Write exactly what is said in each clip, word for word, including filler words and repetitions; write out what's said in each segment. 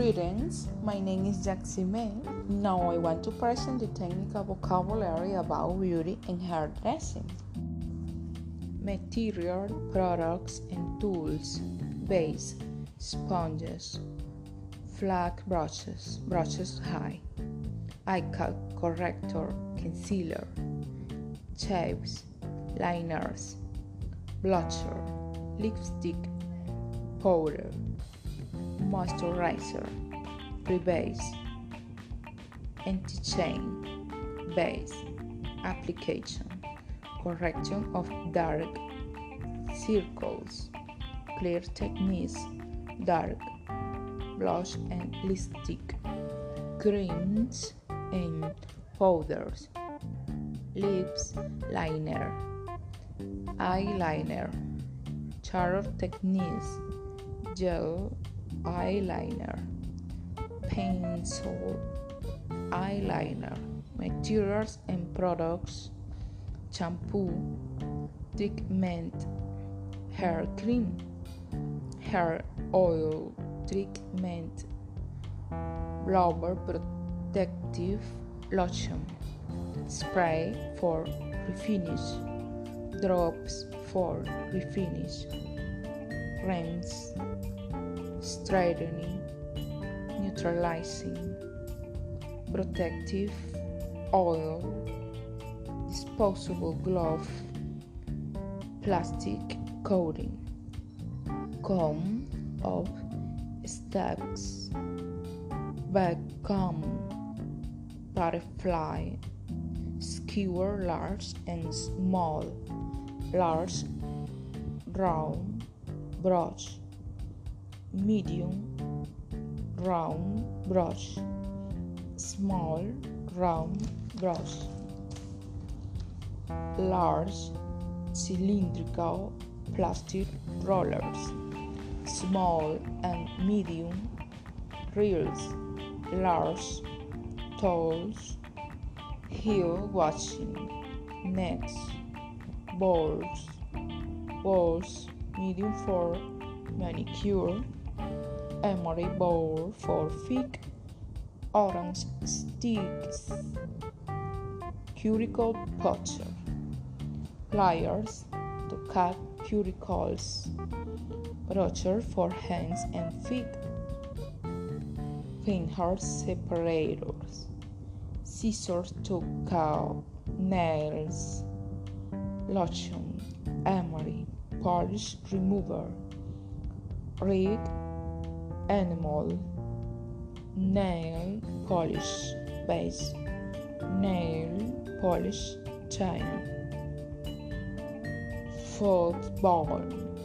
Greetings, my name is Jacksime. Now I want to present the technical vocabulary about beauty and hairdressing. Material, products and tools: base, sponges, flat brushes, brushes high, eye corrector, concealer, shapes, liners, blusher, lipstick, powder, moisturizer, pre-base, anti-chain, base, application, correction of dark circles, clear techniques, dark, blush and lipstick, creams and powders, lips liner, eyeliner, charm techniques, gel eyeliner, pencil eyeliner, materials and products: shampoo, treatment, hair cream, hair oil treatment, blower protective lotion, spray for refinish, drops for refinish, rinse, straightening, neutralizing, protective oil, disposable glove, plastic coating, comb of stacks, vacuum, butterfly, skewer large and small, large, round brush, medium, round brush, small, round brush, large, cylindrical plastic rollers, small and medium reels, large, tools, heel washing, nets, balls, balls, medium for manicure, emery bowl for fig, orange sticks, cuticle puncture, pliers to cut cuticles, brusher for hands and feet, finger separators, scissors to cut nails, lotion, emery, polish remover, rig, animal, nail polish base, nail polish china, football,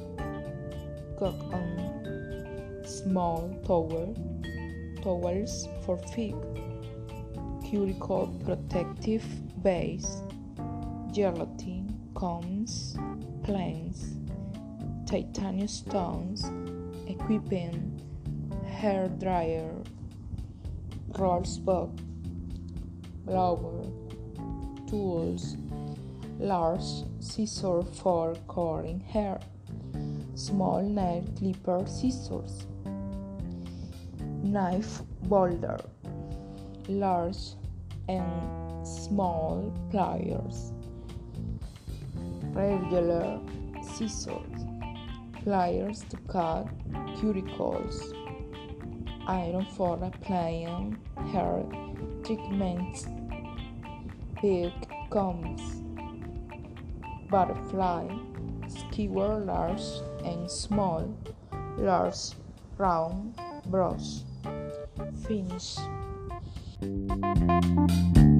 cotton, small towel, towels for feet, cuticle protective base, gelatin, combs, planes, titanium stones, equipment, hair dryer, rolls book, blower, tools, large scissors for cutting hair, small nail clipper scissors, knife boulder, large and small pliers, regular scissors, pliers to cut cuticles, iron for applying hair treatments, big combs, butterfly, skewer large and small, large, round brush, finish.